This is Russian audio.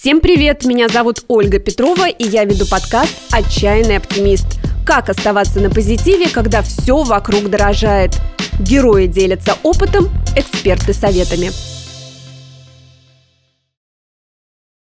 Всем привет! Меня зовут Ольга Петрова, и я веду подкаст «Отчаянный оптимист». Как оставаться на позитиве, когда все вокруг дорожает? Герои делятся опытом, эксперты советами.